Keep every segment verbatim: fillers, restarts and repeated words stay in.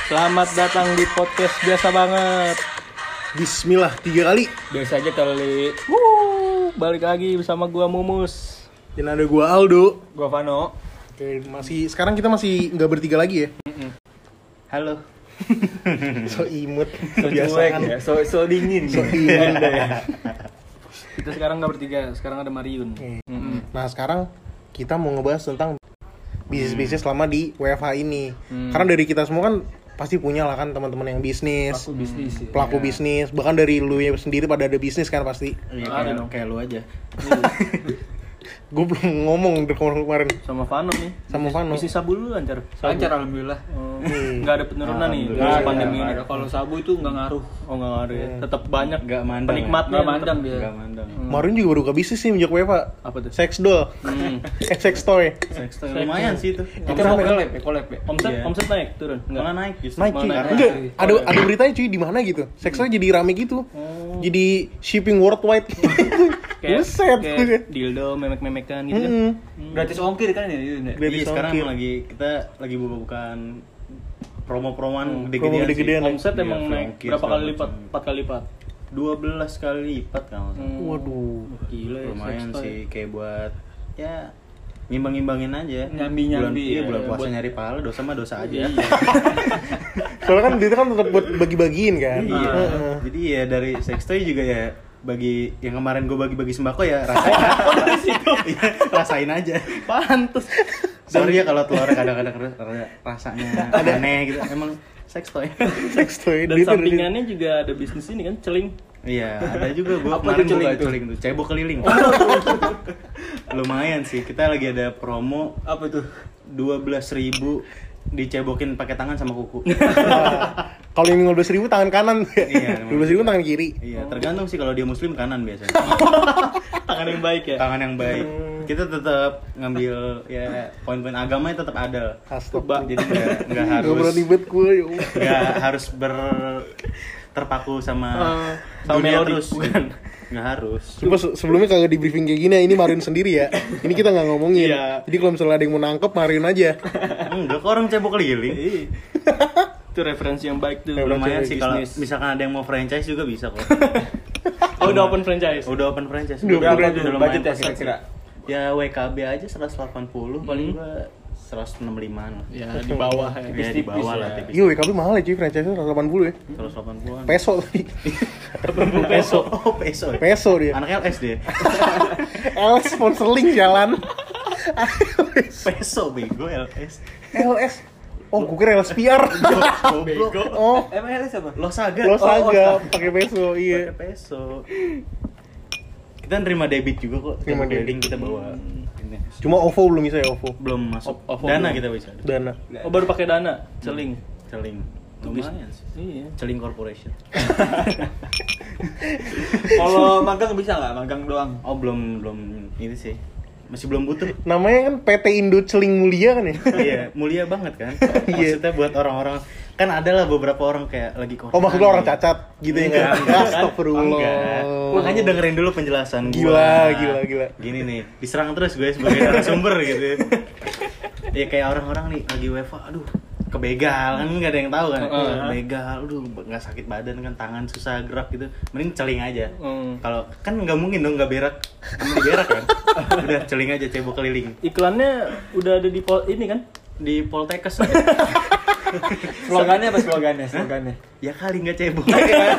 Selamat datang di podcast biasa banget. Bismillah tiga kali. Biasa aja kali. Wuh, balik lagi bersama gua Mumus. Dan ada gua Aldo. Gua Vano. Oke, masih sekarang kita masih nggak bertiga lagi ya. Mm-mm. Halo. So imut, So cuek ya, so, so dingin. So dingin ya. Kita sekarang nggak bertiga, sekarang ada Mariun. Mm-mm. Nah sekarang kita mau ngebahas tentang bisnis-bisnis selama di W F H ini. Hmm. Karena dari kita semua kan pasti punya lah kan teman-teman yang bisnis, Pelaku bisnis. Ya. pelaku bisnis. Bahkan dari lu ya sendiri pada ada bisnis kan pasti. Iya, Ada kayak, dong. kayak lu aja. Gue belum ngomong dari kemarin Sama Vano nih. sama Vano. Bisnis sabu dulu lancar. Lancar alhamdulillah. Oh, nggak ada penurunan nih Alhamdulillah. dari Nggak pandemi ada. ini. Kalau sabu itu nggak ngaruh. Oh nggak ngaruh ya. Tetap banyak Nggak mandang. penikmatnya. Nggak mandang dia. Enggak mandang. Kemarin juga baru buka bisnis sih menjak W F H. Apa tuh? Sex doll, Hmm. eh sex toy. Sex toy lumayan sih itu. Itu mau collab ya, collab ya. Omset Iya. omset naik turun. Malah naik justru. Naik cuy. Mana naik? Enggak, Naik. ada ada beritanya cuy di mana gitu. Sex toy jadi rame gitu. Oh. Jadi shipping worldwide. Kayak, Buset. kayak dildo memek-memekan gitu kan. Hmm. Gratis ongkir kan ini. ini. Gratis Iya, sekarang ongkir. emang lagi kita lagi buka-bukaan promo-promoan promo gede-gedean sih. gede-gedean. Omset Iya, emang naik ongkir berapa segala kali lipat? macam. empat kali lipat. dua belas kali lipat kalau nggak salah. Waduh. Gila ya. Lumayan sex toy. sih kayak buat ya ngimbang-ngimbangin aja. Nyambi-nyambi, Bulan, iya, ya. bulan puasa Buat- nyari pahala, dosa mah dosa aja. Iya. Soalnya kan itu kan tetap buat bagi-bagiin kan. Iya. Heeh. Jadi ya dari sex toy juga ya bagi yang kemarin gue bagi-bagi sembako ya rasain. Iya, rasain aja. Pantes. Sorry ya kalau telurnya kadang-kadang rada- rasanya aneh gitu. Emang sex toy. Sex toy. Dan Dia tuh- sampingannya juga ada bisnis ini kan, celing. Iya, ada juga gue Apa kemarin tuh celing buka tuh? celing tuh, cebok keliling. Lumayan sih. Kita lagi ada promo Apa tuh? dua belas ribu dicebokin pakai tangan sama kuku. Nah, kalau yang lima belas ribu tangan kanan. Iya, lima belas ribu tangan kiri. Iya, tergantung sih kalau dia muslim kanan biasanya. Tangan yang baik ya. Tangan yang baik. Kita tetap ngambil ya poin-poin agamanya tetap ada. Astaga. Jadi nggak nggak harus Gak berani bet gue ya Allah. nggak harus ber terpaku sama Eh, sama dunia melodi, terus. bukan. Nggak harus. Cuma se- sebelumnya kagak di briefing kayak gini ya, ini Marin sendiri ya. Ini kita nggak ngomongin. Iya. Jadi kalau misalnya ada yang mau nangkep, Marin aja. Enggak, kok orang cebok keliling. Itu referensi yang baik tuh. Lumayan Referensi sih kalau bisnis. misalkan ada yang mau franchise juga bisa kok. Oh, udah open franchise. Udah open franchise. Udah Udah, open udah tuh, lumayan budgetnya pas- kira-kira? Ya W K B aja seratus delapan puluh paling Hmm. gua seratus enam puluh lima lah. Ya di bawah ya. Ya di bawah lah tipis. Iya, W K B mahal ya cuy, franchise-nya seratus delapan puluh ya. seratus delapan puluh-an. Peso tadi. Peso. Oh, peso. ya? Peso dia. Anak L S dia. L S sponsor link jalan. Peso bego L S. L S. Oh, gue kira L S P R. Goblok. Oh, Emang L S apa? Lo saga. lo Oh, saga pakai peso, iya. pakai peso. Kita nerima debit juga kok. Terima Kita debit. keliling, kita bawa ini. Cuma O V O belum bisa ya, O V O. Belum masuk. O- OVO Dana belum. kita bisa. Dana. Oh, baru pakai dana, celing. Celing. Lumayan sih. Iya. Celing Corporation. Kalau magang bisa nggak? Magang doang. Oh, belum belum ini sih. Masih belum butuh. Namanya kan P T Indo Celing Mulia kan ya? Iya, mulia banget kan. Iya. Maksudnya buat orang-orang kan ada lah beberapa orang kayak lagi corona. Oh, maksud lo orang cacat gitu ya? Enggak, Enggak, enggak. astagfirullah. Enggak. Makanya dengerin dulu penjelasan gua. Gila, gila, gila. Gini nih, diserang terus gue sebagai narasumber gitu. Ya kayak orang-orang nih lagi W F H, aduh, kebegal kan nggak ada yang tahu kan. Heeh. Kebegal, aduh, nggak sakit badan kan, tangan susah gerak gitu. Mending celing aja. Hmm. Kalau kan nggak mungkin dong nggak berak, kamu di berak kan. Udah celing aja, cebok keliling. Iklannya udah ada di pol ini kan? Di Poltekkes. Slogannya apa slogannya? Slogannya. Ya kali nggak cebok.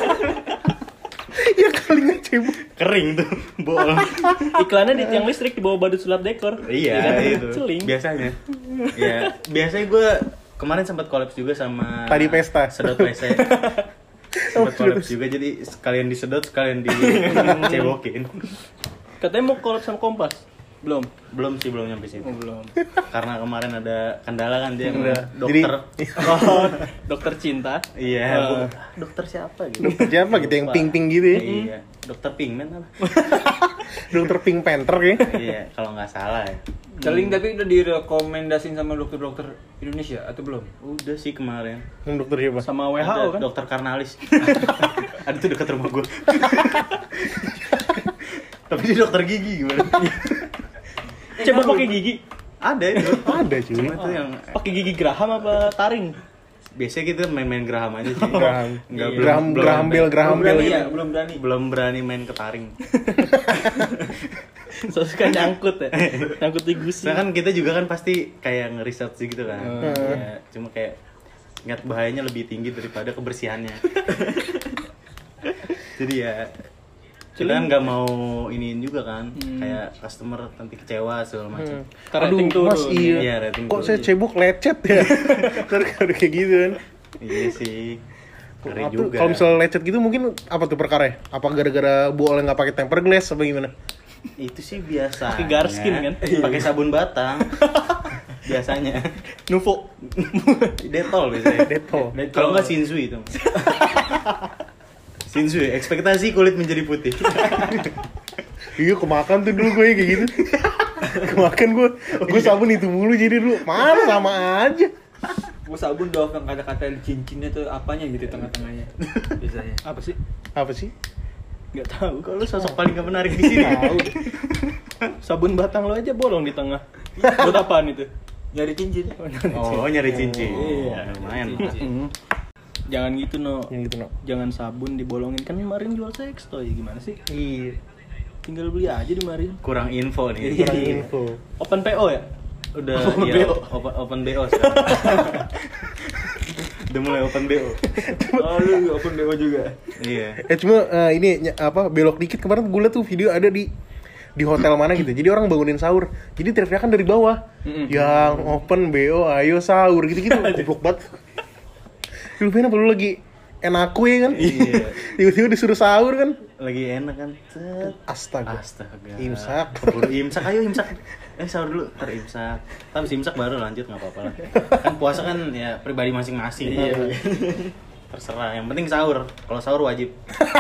Ya kali nggak cebok. Kering tuh, bol. Iklannya di tiang listrik di bawah badut sulap dekor. Iya, kan? itu. Celing. Biasanya. Ya, biasanya gue kemarin sempat collab juga sama Tadi pesta. Sedot W C. Sempat collab juga, jadi sekalian disedot, sekalian dicebokin. Katanya mau collab sama Kompas. Belum. Belum sih, belum nyampe situ. Oh, belum. Karena kemarin ada kendala kan dia Udah. dokter. Oh, dokter cinta. Iya, Eh. bu- dokter siapa gitu? Dokter siapa gitu yang pink-pink gitu ya? Iya, dokter Pigment apa? Dokter Pink Panther ya? Iya, kalau nggak salah ya. Celing tapi udah direkomendasin sama dokter-dokter Indonesia atau belum? Udah sih kemarin. Yang dokter siapa? Sama W H O Ada kan? dokter Karnalis. Ada tuh dekat rumah gue. Tapi dia dokter gigi gimana? Coba pakai gigi. Ada itu. Ada cuy. Cuma itu yang Pakai gigi geraham apa taring? biasanya kita main-main geraham aja sih. Geraham. Enggak Iya. Geraham geraham bel geraham Belum bel berani gitu. ya, belum berani. belum berani main ketaring. So suka nyangkut ya. Nyangkut di gusi. Soalnya kan kita juga kan pasti kayak nge-research gitu kan. Hmm. Ya, cuma kayak ingat bahayanya lebih tinggi daripada kebersihannya. Jadi ya kita kan nggak mau iniin juga kan, Hmm. kayak customer nanti kecewa segala macam. Hmm. Karena Aduh, rating turun. Mas iya. Iya, rating Kok turun. saya cebok lecet ya? Ntar kalau kayak gitu kan. Iya sih. Ngeri Apa- juga. Kalau misalnya lecet gitu mungkin apa tuh perkara? Apa gara-gara Bu Oleh nggak pakai temper glass apa gimana? Itu sih biasa. Pakai Garskin kan? Pakai sabun batang. Biasanya. Nuvo. Detol biasanya. Detol. Kalau nggak Shinsui itu. Shinsui, ekspektasi kulit menjadi putih. Iya kemakan tuh dulu gue kayak gitu. Kemakan gue, gue sabun itu mulu jadi dulu. Mana sama aja. Gua sabun doang yang kata-kata cincinnya tuh apanya gitu tengah-tengahnya. Biasanya. Apa sih? Apa sih? Nggak tahu. Kok lu sosok paling gak menarik di sini? Tahu. Sabun batang lo aja bolong di tengah. Buat apaan itu? Nyari cincin. Oh, nyari cincin. Iya. Lumayan. Mm. Jangan gitu no. Yang gitu no. Jangan sabun dibolongin, kan kemarin jual sex toy gimana sih? Iya. Tinggal beli aja di mari. Kurang info nih. Kurang Iya. info. Open P O ya? Udah Open iya, B O. open, open B O sekarang. Udah mulai open B O. Oh, lu open B O juga. Iya. Eh cuma eh, ini ny- apa belok dikit kemarin gue liat tuh video ada di di hotel mana gitu. Jadi orang bangunin sahur. Jadi teriak-teriakan dari bawah. Mm-mm. Yang open B O ayo sahur gitu-gitu. Goblok banget. Lu pengen apa lu lagi enak ya kan? Iya. Tiba-tiba disuruh sahur kan? Lagi enak kan. Cet. Astaga. Astaga. Imsak. Keburu imsak, ayo imsak. Eh sahur dulu, ntar imsak. Tapi imsak baru lanjut nggak apa-apa lah. Kan puasa kan ya pribadi masing-masing. Iya. Terserah. Yang penting sahur. Kalau sahur wajib.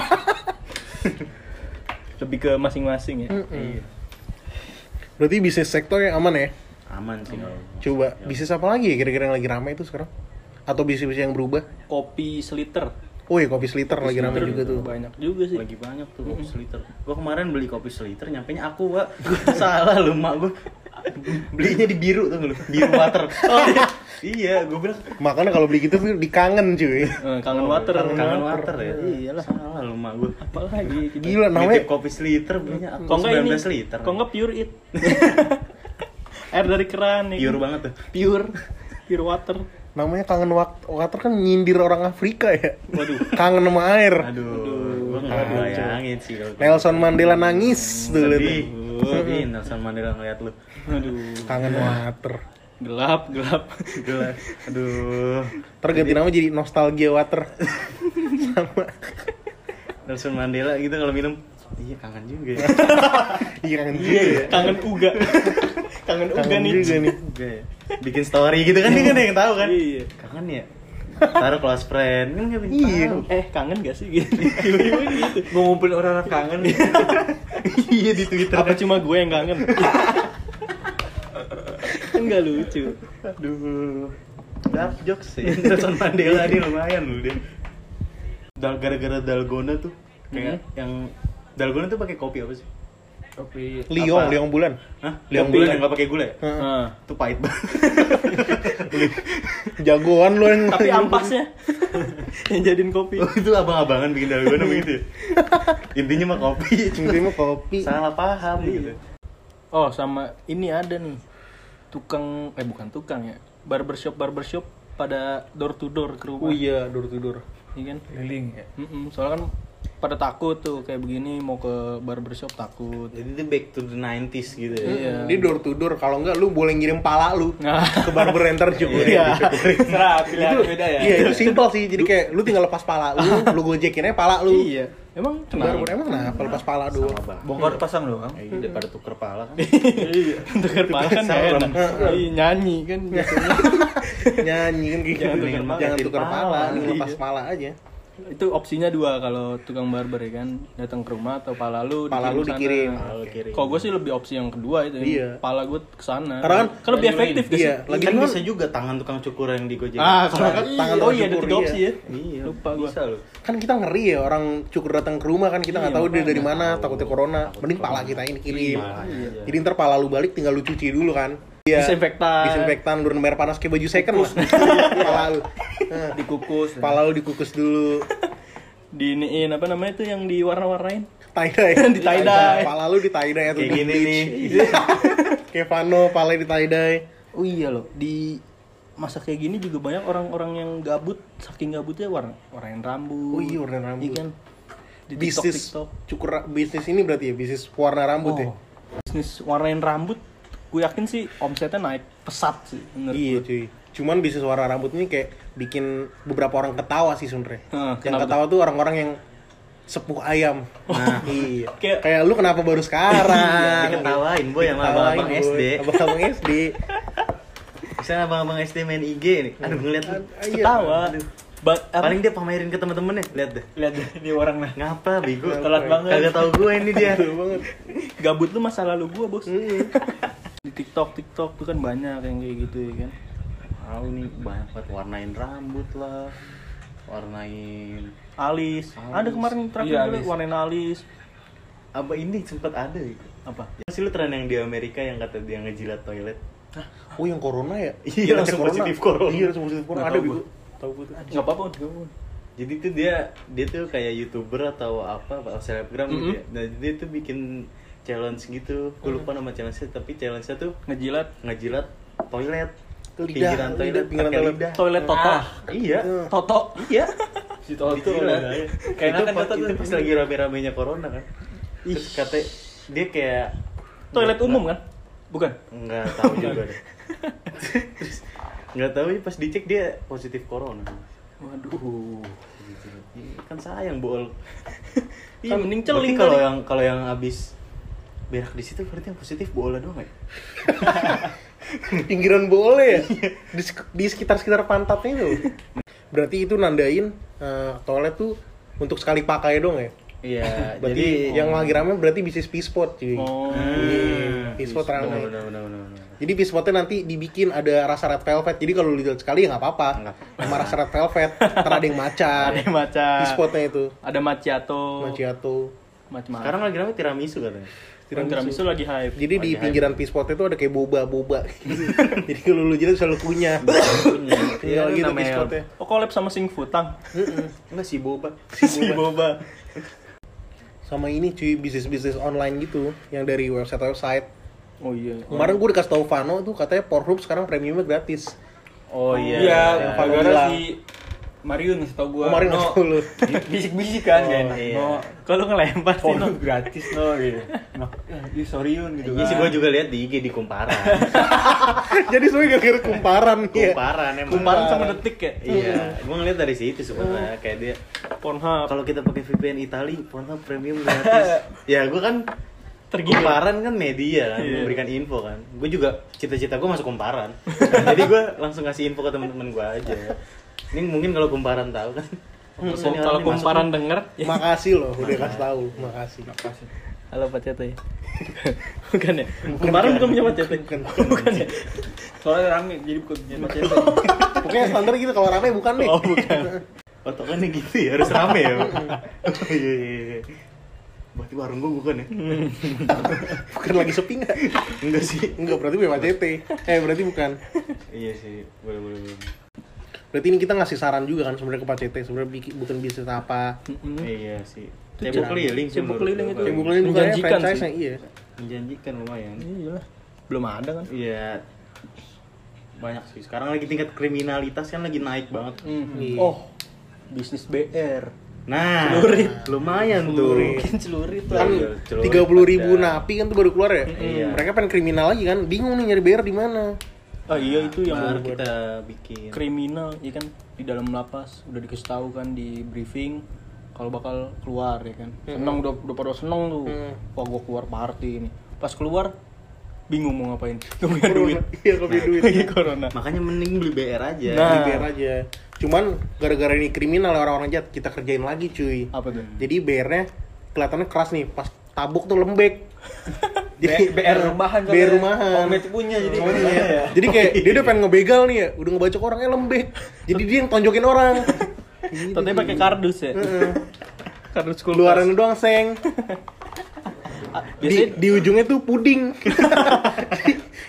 Lebih ke masing-masing ya. Iya. Berarti bisnis sektor yang aman ya? Aman sih kalau. Coba bisnis apa lagi ya kira-kira yang lagi ramai itu sekarang? Atau bisnis-bisnis yang berubah? Kopi seliter. Oh iya kopi seliter lagi ramai Seliter juga tuh. Banyak juga sih. Lagi banyak tuh kopi seliter. Gua kemarin beli kopi seliter, nyampenya aku, Pak. Salah lu, Mak gua. Belinya di biru tuh lu, biru water. Oh iya. Iya, gua bilang Makanya kalau beli gitu tuh dikangen cuy. Eh, kangen water. kangen water ya. Iyalah. Salah lu, Mak gua. Apalagi kita. Gila namanya. Nitip kopi seliter belinya aku Kok enggak ini? sembilan belas liter. Kok enggak pure it. Air dari keran nih. Pure banget tuh. Pure. Pure water. Namanya kangen wak- water kan nyindir orang Afrika ya. Waduh. Kangen sama air. Aduh, gua enggak Aduh. bayangin sih kalau Nelson Mandela nangis tuh liat sedih. tuh. Ih, Nelson Mandela ngeliat lu. Aduh. Kangen water. Gelap, gelap. Gila. Aduh. Terganti nama jadi nostalgia water. Sama. Nelson Mandela gitu kalau minum. Iya, kangen juga ya. Iya kangen juga ya. Kangen uga. Kangen uga Kangen nih. juga nih. Juga ya. Bikin story gitu kan dia kan yang tahu kan. Iya. Kangen ya. Taruh close friend kan enggak Iya. Eh, kangen gak sih gitu? Tiba-tiba gitu. Ngumpulin orang-orang kangen. Iya di Twitter. Apa cuma gue yang kangen? Kan gak lucu. Aduh. Dark jokes sih. Nelson Mandela ini lumayan loh dia. Dal gara-gara dalgona tuh kayak yang dalgona tuh pakai kopi apa sih? Kopi. Liong, Apa? Liong bulan. Hah? Liang Yang bulan bulan. yang enggak pakai gula ya? Nah, Itu pahit banget. Jagoan lu yang. tapi ampasnya yang jadiin kopi. Oh, itu abang-abangan bikin dalgona begitu ya? Intinya mah kopi. Intinya kopi. Salah paham gitu. Oh, sama ini ada nih. Tukang eh bukan tukang ya. Barbershop barbershop pada door to door ke rumah. Oh iya, door to door. Iya kan? Keliling ya. Mm-mm, soalnya kan pada takut tuh kayak begini mau ke barbershop takut. Jadi itu back to the nineties gitu ya. Iya. Dia door to door. Kalau enggak lu boleh ngirim pala lu Nah. ke barber enter cukup. Iya. Serah pilihan beda ya. Iya itu simpel sih. Jadi kayak lu tinggal lepas pala lu, lu gojekin aja pala lu. Iya. Emang Barber kenapa? emang kenapa lepas pala doang? Sama bang. Bongkar pasang doang. Eh, daripada tuker pala kan. Iya. Tukar pala kan gak Salam. enak. Iya, nyanyi kan biasanya. Nyanyi kan kayak Jangan gitu. tukar pala. Jangan tukar pala, Iya. lepas pala aja. Itu opsinya dua kalau tukang barber ya kan, datang ke rumah atau pala lu Pala lu sana. dikirim. Pala lu kirim. Kalau gue sih lebih opsi yang kedua itu, Iya. pala gue kesana. Karena kan- kan lebih efektif gak sih? Iya, lagi kan kan bisa juga tangan tukang cukur yang digojek. Ah, kalau kan Tangan oh tukang iya ada cukur, tiga iya. opsi ya. Iya, Lupa gua. bisa loh. kan kita ngeri ya orang cukur datang ke rumah kan kita nggak Iya, tahu dia dari makanya. mana takutnya corona mending pala kita ini kirim Iya. jadi ntar pala lu balik tinggal lu cuci dulu kan Iya. Disinfektan. Disinfektan, lurin air panas kayak baju second lah. Pala lu. Nah, Dikukus. pala lu dikukus dulu. Diiniin apa namanya itu yang diwarna-warnain? Tie dye. Di tie dye. Pala lu di tie dye atau Kayak di gini bleach. nih. Kayak Vano, pala di tie dye. Oh iya loh, di masa kayak gini juga banyak orang-orang yang gabut, saking gabutnya warna warnain rambut. Oh iya, warnain rambut. Iya kan? Di Bisnis TikTok, cukur ra- bisnis ini berarti ya, bisnis warna rambut ya. Oh, bisnis warnain rambut, gue yakin sih omsetnya naik pesat sih. Menurut Iya gue. cuy. Cuman bisnis warna rambut ini kayak bikin beberapa orang ketawa sih sebenernya. Hah, Yang kenapa ketawa tuh orang-orang yang sepuh ayam. Nah, iya. Kayak- Kayak lu kenapa baru sekarang? Diketawain boy sama abang-abang Diketawain, S D. boy. Abang-abang S D. Misalnya abang-abang S D main I G nih. Aduh ngeliat lu. Iya. Ketawa. Ba- apa- Paling dia pamerin ke temen-temennya. Lihat deh. lihat deh ini orang nah. Ngapa bego? Telat banget. Kagak tahu gue ini dia. Betul banget. Gabut lu masa lalu gue bos. Mm. Di TikTok TikTok tuh kan banyak yang kayak gitu ya kan. Tahu nih banyak banget warnain rambut lah. Warnain Alis. Alis. Ada kemarin terakhir Iya, gue alis. warnain alis. apa ini sempat ada gitu. Apa? Masih lu tren yang di Amerika yang kata dia ngejilat toilet. Oh yang corona ya? Iya, langsung Corona. positif corona. Iya langsung positif corona. Nggak Ada tahu bego. gua. Tahu gue tuh. Enggak apa-apa, enggak apa-apa. Jadi tuh dia dia tuh kayak YouTuber atau apa atau selebgram gitu Mhm. ya. Nah, dia tuh bikin challenge gitu. Gue lupa nama challenge-nya tapi challenge-nya tuh Ngejilat ngejilat toilet. Lidah, Pinggiran lidah, toilet, pinggiran pakai toilet. lidah. toilet Toto. Ah, iya. Toto. Iya. Si Toto. Dijilat. Kayak itu enakan pas, Toto itu tuh. pas lagi rame-ramenya corona kan. Terus kata dia kayak Toilet umum kan? Bukan. Enggak tahu juga deh. Terus enggak tahu pas dicek dia positif corona. Waduh. Kan sayang bol. Iya, mending Berarti celing kalau kali. yang kalau yang habis berak di situ berarti yang positif bola doang ya? Pinggiran boleh ya? Di, sek- di sekitar-sekitar pantatnya itu. Berarti itu nandain eh, toilet tuh untuk sekali pakai dong ya? Iya, Berarti jadi yang lagi rame berarti bisnis P-spot cuy. Oh. Hmm, P-spot rame. benar, benar, benar, benar. Jadi P-spotnya nanti dibikin ada rasa red velvet. Jadi kalau lu lihat sekali ya nggak apa-apa. Nggak. Sama rasa red velvet. Ntar ada yang maca. Ada yang maca. P-spotnya itu. Ada macchiato. Macchiato. Macam-macam. Sekarang lagi rame tiramisu katanya. tiramisu. tiramisu lagi hype. Jadi di Lagi pinggiran P-spotnya itu ada kayak boba-boba. Jadi kalau lu jilat selalu kunyah. Tinggal gitu namanya- P-spotnya. Oh, collab sama Sing Futang. Enggak si boba. Si Boba. Sama ini cuy, bisnis-bisnis online gitu. Yang dari website-website. Oh iya. Kemarin gue dikasih tau Vano tuh katanya Pornhub sekarang premiumnya gratis. Oh iya. Iya, yang Vano gara-gara bilang. si Mariun ngasih tau gua. Kemarin no, ngasih tau lu. bisik-bisik kan Oh, gak enak. iya. No, Kalau ngelempar sih porno no. gratis no gitu. No, ya sorry Yun gitu Iya sih kan. gua juga lihat di I G di kumparan. Jadi semuanya gak kira kumparan ya. Kumparan emang. Kumparan sama detik ya. Iya, gua ngeliat dari situ sebenarnya kayak dia Pornhub. kalau kita pakai V P N Itali, Pornhub premium gratis. Ya gua kan Tergila. kumparan kan media kan, Iya. memberikan info kan. Gue juga cita-cita gue masuk kumparan. Jadi gue langsung kasih info ke teman-teman gue aja. Ini mungkin kalau kumparan tahu kan. Hmm, Terus ini kalau orang ini kumparan masuk denger ya. Makasih loh udah kasih tahu. Makasih. Halo Pak Cete. Bukan ya? Kumparan bukan punya Pak Cete. Bukan. Bukan ya? Soalnya rame jadi bukan punya Pak Cete. Pokoknya standar gitu kalau rame bukan nih. Oh, bukan. Patokannya gitu ya, harus rame ya. Oh, iya, iya, iya. Berarti warung gue bukan ya? Bukan lagi sepi nggak? Enggak sih. Enggak, berarti bukan Pak C T. Eh, berarti bukan. Iya sih, boleh boleh boleh. Berarti ini kita ngasih saran juga kan sebenarnya ke Pak C T. Sebenarnya bikin bukan bisnis apa. Mm-mm. Iya sih. Itu Cebok jangan. keliling sih. Cebok menurut keliling gua. itu. Yang bukan bukannya Menjanjikan franchise sih. yang iya. Menjanjikan lumayan. Iya lah. Belum ada kan? Iya. Banyak sih. Sekarang lagi tingkat kriminalitas kan lagi naik banget. Iya. Oh, bisnis B R. Nah, Celurit. lumayan Celurit. tuh. Mungkin celurit lah. Kan Iya, celurit tiga puluh ribu ada. napi kan tuh baru keluar ya. Iya. Mereka pengen kriminal lagi kan. Bingung nih nyari B R di mana. Ah iya itu yang Baru baru kita bikin. kriminal, ya kan di dalam lapas udah dikasih tahu kan di briefing kalau bakal keluar ya kan. Seneng udah udah pada seneng tuh. Hmm. Wah gua keluar party ini. Pas keluar bingung mau ngapain. Gak punya duit. Iya, gak punya duit. Lagi corona. Makanya mending beli B R aja. Nah. Di B R aja. Cuman gara-gara ini kriminal orang-orang jahat kita kerjain lagi cuy. Apa tuh? Jadi B R-nya kelihatannya keras nih. Pas tabuk tuh lembek. B- BR rumahan B R rumahan. Om itu punya jadi. Oh, iya. Jadi kayak dia udah pengen ngebegal nih ya, udah ngebacok orangnya lembek. Jadi dia yang tonjokin orang. Tapi pakai kardus ya. Heeh. Kardus kulkas. Keluaran doang seng. Ah, Di, Biasanya di ujungnya tuh puding. Jadi,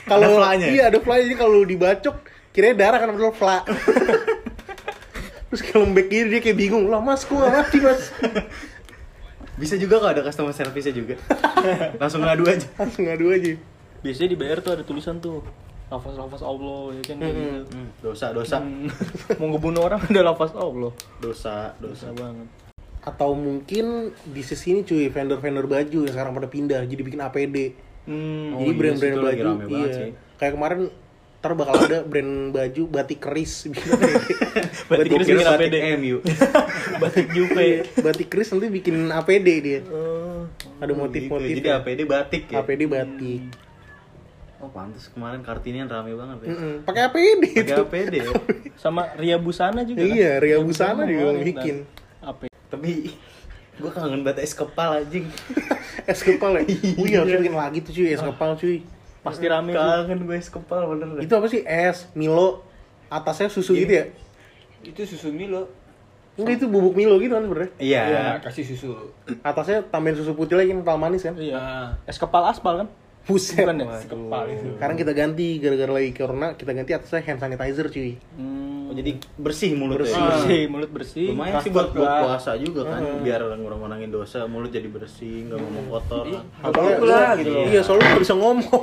Kalau Ada fla-nya? iya ada fly, jadi kalau dibacok kira darah kan padahal fla. Terus kalau lembek gini dia kayak bingung, lah mas, kok nggak mati mas? Bisa juga kok ada customer service-nya juga. Langsung ngadu aja. Langsung ngadu aja. Biasanya di B R tuh ada tulisan tuh lafaz-lafaz Allah ya kan. kayak gitu. Hmm, dosa, dosa. Hmm. Mau ngebunuh orang ada lafaz Allah. Dosa, dosa. Dosa banget. Atau mungkin di sisi ini cuy, vendor-vendor baju yang sekarang pada pindah jadi bikin A P D. Hmm. Oh, Jadi iya brand-brand sih, itu lagi baju, rame banget iya. sih. Kayak kemarin ntar bakal ada brand baju batik keris bikin A P D. Batik keris Kira bikin A P D. batik M U. Batik Juve. Batik keris nanti bikin A P D dia. Oh. Ada motif-motif. Gitu. Jadi A P D batik ya. A P D batik. Oh, pantas kemarin Kartinian rame banget ya. Mm-mm. Pakai A P D Pakai itu. A P D ya. Sama Ria Busana juga. Iya, kan? Ria Busana juga kemarin, bikin. dan apa? Tapi gua kangen banget es kepal anjing. Es kepal ya? Wih, harus bikin lagi tuh cuy, es kepal cuy. Pasti rame tuh. Kangen gue es kepal bener dah. Itu apa sih? Es, Milo, atasnya susu Ini. gitu ya? Itu susu Milo. Enggak, itu bubuk Milo gitu kan sebenarnya. Iya. Ya, kasih susu. Atasnya tambahin susu putih lagi kental manis kan? Iya. Ah. Es kepal aspal kan? Buset. Bukan ya? Kepal itu. Sekarang kita ganti gara-gara lagi corona, kita ganti atasnya hand sanitizer cuy. Hmm. Oh, jadi bersih mulut Bersih. ya. bersih, mulut bersih. Lumayan sih Transport buat, buat lah. puasa juga kan, biar ngurang-ngurangin dosa, mulut jadi bersih, nggak ngomong kotor. Iya. Soalnya, Apa lah, gitu loh. Iya, soalnya lu gak bisa ngomong.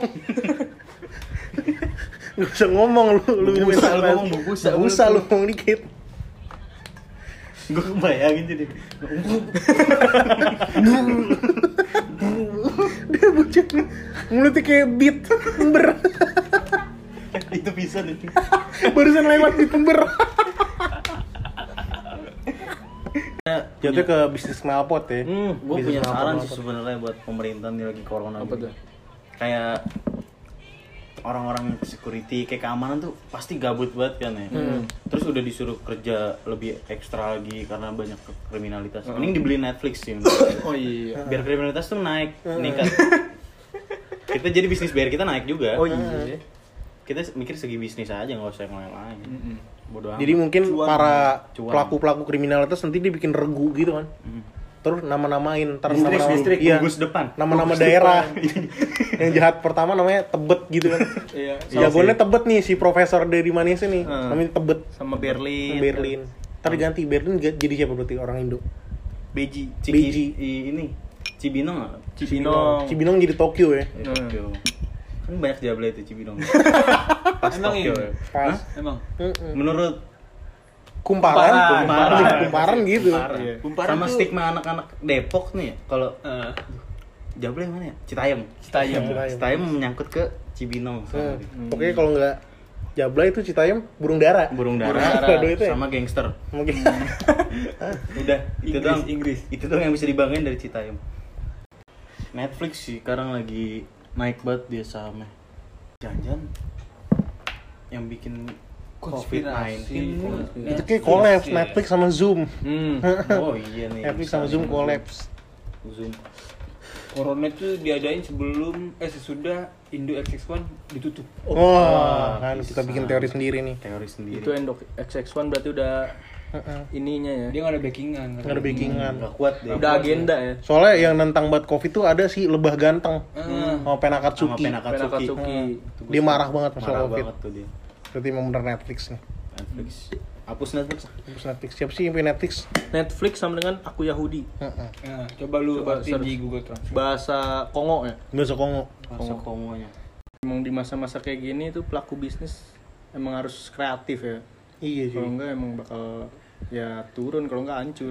Gak bisa ngomong lu, lu Bubusa, minta lu apa? ngomong bubusa, Gak usah lu ngomong dikit. Gue kebayangin jadi. Dia bocah mulutnya kayak beat ember. Itu bisa nih. Barusan lewat beat ember. Jatuh ke bisnis knalpot ya. Hmm. Gue Bisnis punya knalpot, saran sih knalpot. sebenarnya buat pemerintah nih lagi corona. Apa gini. tuh? Kayak orang-orang security kayak keamanan tuh pasti gabut banget kan ya. Terus udah disuruh kerja lebih ekstra lagi karena banyak kriminalitas. Mending dibeli Netflix sih. Oh iya. Biar kriminalitas tuh naik, meningkat. Kita jadi bisnis biar kita naik juga. Oh iya. Kita mikir segi bisnis aja, nggak usah yang lain-lain. Bodoh amat. Jadi mungkin Cuan. para Cuan. pelaku-pelaku kriminalitas nanti dia bikin regu gitu kan. Hmm. Terus nama-namain, ntar Distrik, nama-nama distrik, iya, gugus depan. nama-nama Gugus daerah. depan. Yang jahat pertama namanya Tebet gitu kan. Iya. Jagoannya Tebet nih si Profesor dari Manisa nih. Hmm. Namanya Tebet. Sama Berlin. Berlin. Ntar diganti Berlin ga- jadi siapa berarti orang Indo? Beji. Ciki, Beji. i- ini Cibinong nggak? Cibinong. Cibinong jadi Tokyo ya. Ya, Tokyo. Kan banyak jable itu Cibinong. Pas Emang Tokyo iya? ya. Pas. Hah? Emang. Mm-mm. Menurut Kumparan, Kumparan. kumparan, kumparan gitu. Kumparan. Iya. Kumparan Sama tuh- stigma anak-anak Depok nih ya, kalau Eh, jable yang mana ya? Citayam. Citayam. Citayam. Citayam menyangkut ke Cibinong. Hmm. sama Pokoknya kalau nggak Jabla itu Citayam burung dara. burung Burung dara dara. Aduh, itu ya? sama gangster. Mungkin. Udah, itu Inggris, doang. Inggris. Itu doang yang bisa dibanggain dari Citayam. Netflix sih sekarang lagi naik banget dia sahamnya. Jangan-jangan yang bikin covid sembilan belas. Itu kayak collapse Netflix sama Zoom. Hmm. Oh iya nih. Netflix bisa sama nih, Zoom collapse. Zoom. Corona itu diadain sebelum eh sesudah Indo X X satu ditutup. Wah, kan bisa. kita bikin teori sendiri nih. Teori sendiri. Itu Endok X X satu berarti udah Heeh. ininya ya. Dia nggak ada backingan. Nggak ada backingan. Nggak kuat deh. Udah agenda ya. Soalnya yang nentang buat Covid tuh ada si Lebah Ganteng Ah. sama Sama Penakatsuki. Penakatsuki. Penakatsuki. Itu Dia gua marah banget masalah marah Covid. banget tuh dia. Berarti emang bener Netflix nih. Netflix. Hapus Netflix. Terus Netflix siapa sih yang punya Netflix? Netflix sama dengan Aku Yahudi. Heeh. Nah, coba lu Coba artiin search. di Google Translate. Bahasa Kongo ya. Bahasa Kongo. Masa komonya. Emang di masa-masa kayak gini tuh pelaku bisnis emang harus kreatif ya. Iya Kalau sih. enggak emang bakal ya turun, kalau enggak hancur.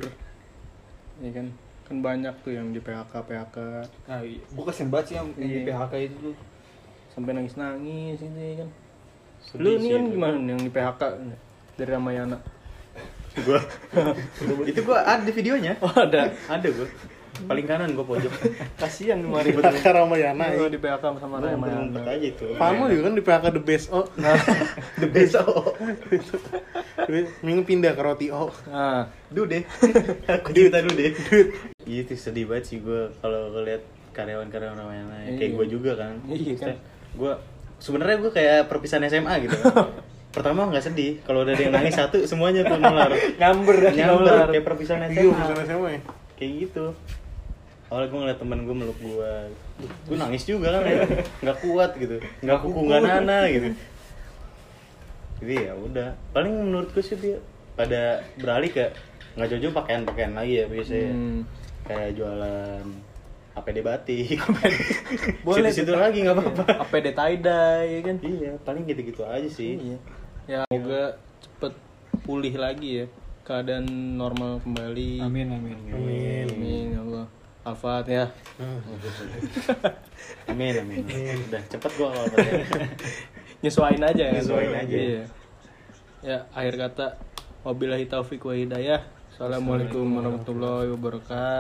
Ya kan? Kan banyak tuh yang di P H K P H K Nah, iya. Gua kasian banget sih yang yang di Iya. P H K itu tuh. sampai nangis-nangis ini kan. Sedih Lu ini sih kan itu. gimana nih yang di P H K dari Ramayana? Gua itu gua ada videonya. Oh, ada. Ada gua. Paling kanan gua pojok. Kasihan kemarin. Kakak Ramayana. Oh, ya. di P H K sama Gua ngumpet Ramayana. aja itu. Pano juga kan di P H K The Best Oh. The best oh. Minggu pindah ke Roti Oh. Nah, Dude. Aku cerita dulu deh. Iya itu sedih banget sih gua kalau ngeliat karyawan-karyawan Ramayana. Iya. Kayak gua juga kan. Iya kan. Gua sebenarnya gua kayak perpisahan S M A gitu kan. Pertama nggak sedih, kalau udah ada yang nangis satu semuanya tuh nular. nyamber dah Nyamber kayak perpisahan S Iya, M A. bisa S M A ya. Kayak gitu. awalnya gue ngeliat temen gue meluk gue, gue nangis juga kan ya, nggak kuat gitu, nggak kuku nggak nana gitu. Jadi ya udah, paling menurut gue sih dia pada beralih ke nggak jauh-jauh pakaian-pakaian lagi ya biasanya, Hmm. kayak jualan A P D batik, Boleh situ-situ lagi nggak apa-apa. A P D tie-dye ya kan. Iya, paling gitu-gitu aja sih. Iya. Ya semoga cepet pulih lagi ya, keadaan normal kembali. Amin amin. Amin. Amin ya Allah. Al-Fatihah. Amin, amin. Udah cepet gua kalau tanya. Nyesuain aja kan. Nyesuain aja. Iya. Ya, akhir kata wabillahi taufik wa hidayah. Assalamualaikum warahmatullahi wabarakatuh.